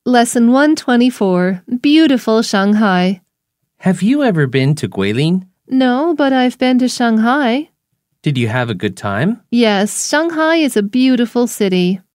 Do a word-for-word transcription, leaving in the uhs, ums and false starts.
Lesson one twenty-four, Beautiful Shanghai. Have you ever been to Guilin? No, but I've been to Shanghai. Did you have a good time? Yes, Shanghai is a beautiful city.